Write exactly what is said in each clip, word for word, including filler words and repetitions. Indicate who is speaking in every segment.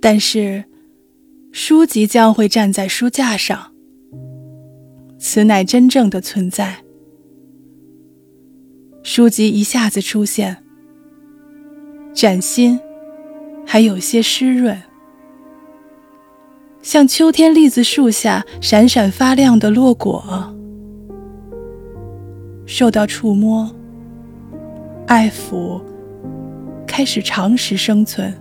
Speaker 1: 但是书籍将会站在书架上，此乃真正的存在。书籍一下子出现，崭新，还有些湿润，像秋天栗子树下闪闪发亮的落果，受到触摸、爱抚，开始长时生存。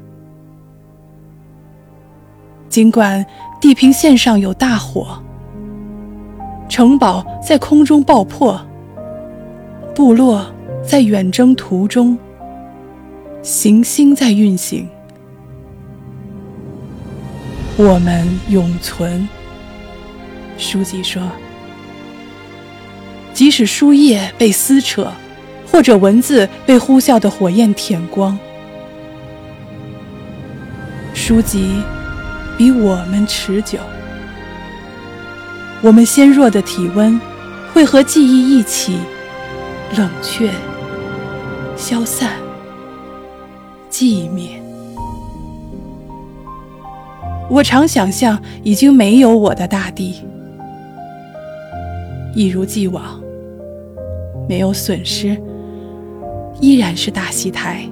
Speaker 1: 尽管地平线上有大火，城堡在空中爆破，部落在远征途中，行星在运行，我们永存。书籍说，即使书页被撕扯，或者文字被呼啸的火焰舔光，书籍比我们持久。我们纤弱的体温会和记忆一起冷却、消散、寂灭。我常想象已经没有我的大地，一如既往，没有损失，依然是大戏台。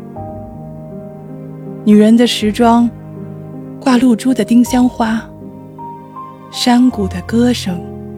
Speaker 1: 女人的时装，挂露珠的丁香花，山谷的歌声。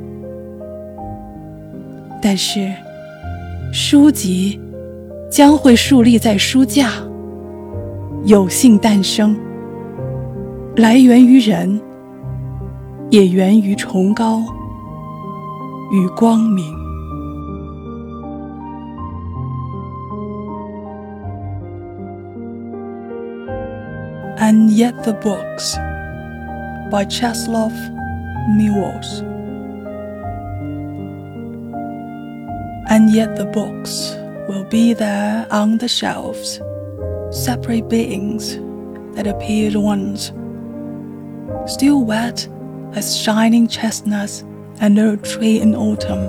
Speaker 1: 但是书籍将会竖立在书架，有幸诞生，来源于人，也源于崇高与光明。And Yet the Books by Czesław Miłosz. And yet the books will be there on the shelves, separate beings that appeared once, still wet as shining chestnuts under a tree in autumn,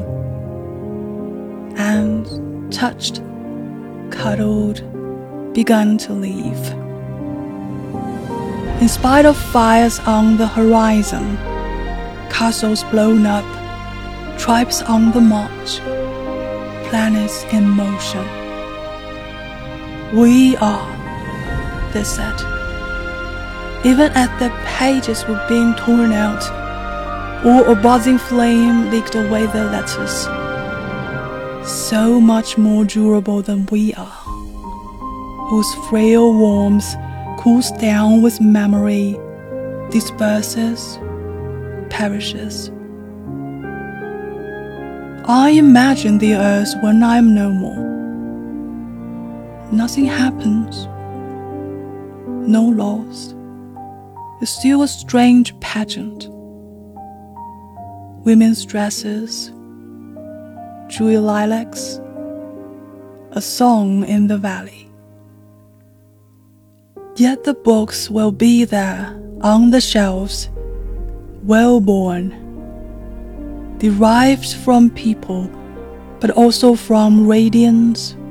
Speaker 1: and touched, cuddled, begun to leave. In spite of fires on the horizon, castles blown up, tribes on the march, planets in motion. We are, they said. Even as the pages were being torn out, or a buzzing flame leaked away their letters, so much more durable than we are, whose frail warmth cools down with memory, disperses, perishes. I imagine the earth when I am no more. Nothing happens, no loss. It's still a strange pageant. Women's dresses, dewy lilacs, a song in the valley. Yet the books will be there on the shelves, well-born, derived from people, but also from radiance,